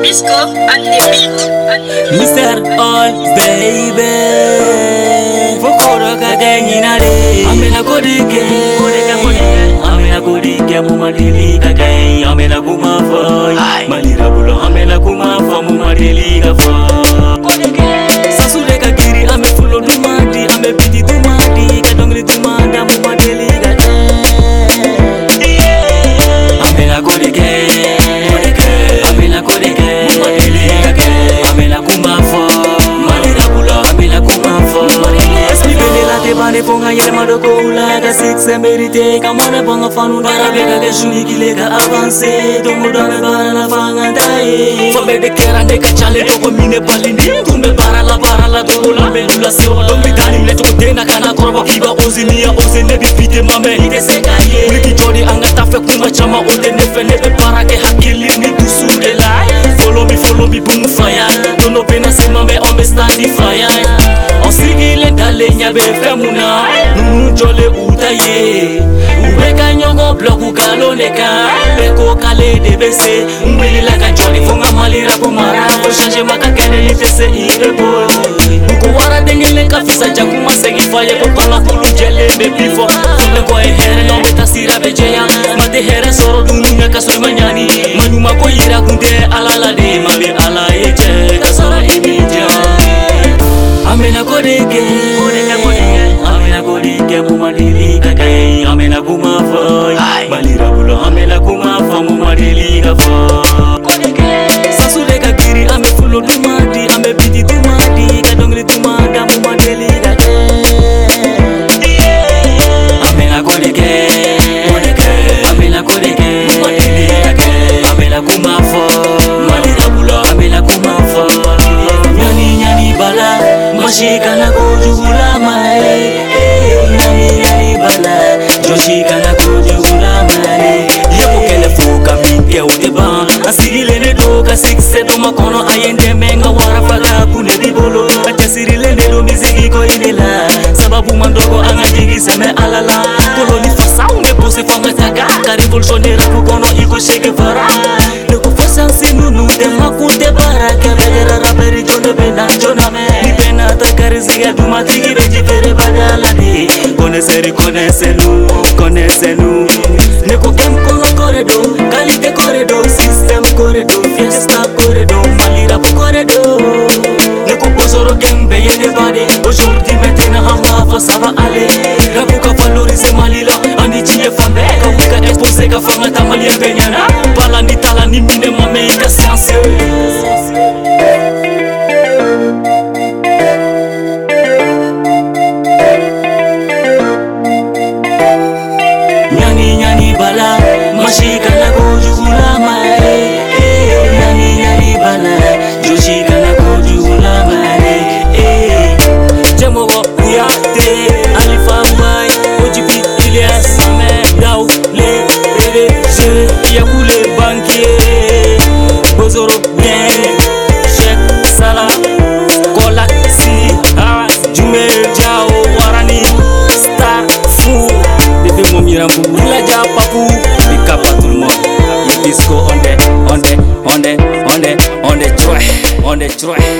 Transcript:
Bisco and the beat. Mr. All baby, Fokoro kaganyina de. Amena kodike, amena kodike mumadili kagay. Amena kumafa, malira bulo. Amena kumafa mumadili kafa. Sasule kagiri ame fulo dumadi, ame biti dumadi, kadongri dumanda mumadili kagay. Amena kodike. Bane fonga yerma do koula ka six emerite kamana banga fanu dara bega ke shuni kilega avance do mudame bara la fanga dai fobe de kerande ka chale to ko mine balindi tumbe bara la do kola melula se o do mitani le to dena kana korba kiba ozinia ozene bi fite mame ite se kaye riki jodi anga tafe kuma chama o de ne fene be bara ke hakili ni dusu de la follow me boom fire do no pena se mame on me stand fire on sigile dale nyabe femuna nunu jole utaye ubeka nyongo bloku kaloneka beko kale debese mbili la ka joli fonga malira ko mara ko changer makakene litese irebo ko wara dengile ka fisa jaku masegi faye ko pala kulu jele be bifo fule ko e here no beta sira bejeya mate here soro dunya ka so manyani manuma ko ira kunde alala de mali ala eje ka sara imija amena kodike amena kodike mumadili kagay amena kumafa malira bulo amena kumafa mumadili kafa sasule kagiri ame fulo dumadi ame biti dumadi kadongri dumanda mumadili kagay amena kodike amena kodike mumadili kagay amena kumafa malira bulo amena kumafa nyani bala Joshika na kujula mai, nani bala. Joshika na kujula mai. Yebo kele fuka minke uteba. Asile ne doka sikse do makono ayende menga warafaga kune dibolo. Atasile ne do miziki ko inela. Sababu mandogo angajigi seme alala. Koloni fasa une pose fanga taga. Revolutionnaire kukono iko sheke fara. Neko fasa sinunu de makunte baraka. Bedera raperi jone bena jona me. Ziga duma tigi beji fere bagala di Connaissez-nous Neko kem kono corridor Qualité corridor System corridor Fiesta corridor Malira po corridor Neko posoro kem beye de body Aujourd'hui maintenant hama fa ça va aller Rabu ka valoriser malila Ani chie fambe Ka exposer ka fanga tamali benyana Balandi talani mine mame ika science bala mashika na kujula mai nani bala joshika na kujula mai jamogo uyate alifa mai ojibi Elias ame dau le rele je yakule banquier bozoro bien Sheikh Salah Kolak si ha Jumel Jao warani star fou bébé mon mirambu Papu, pick up tout le monde. Bisco on the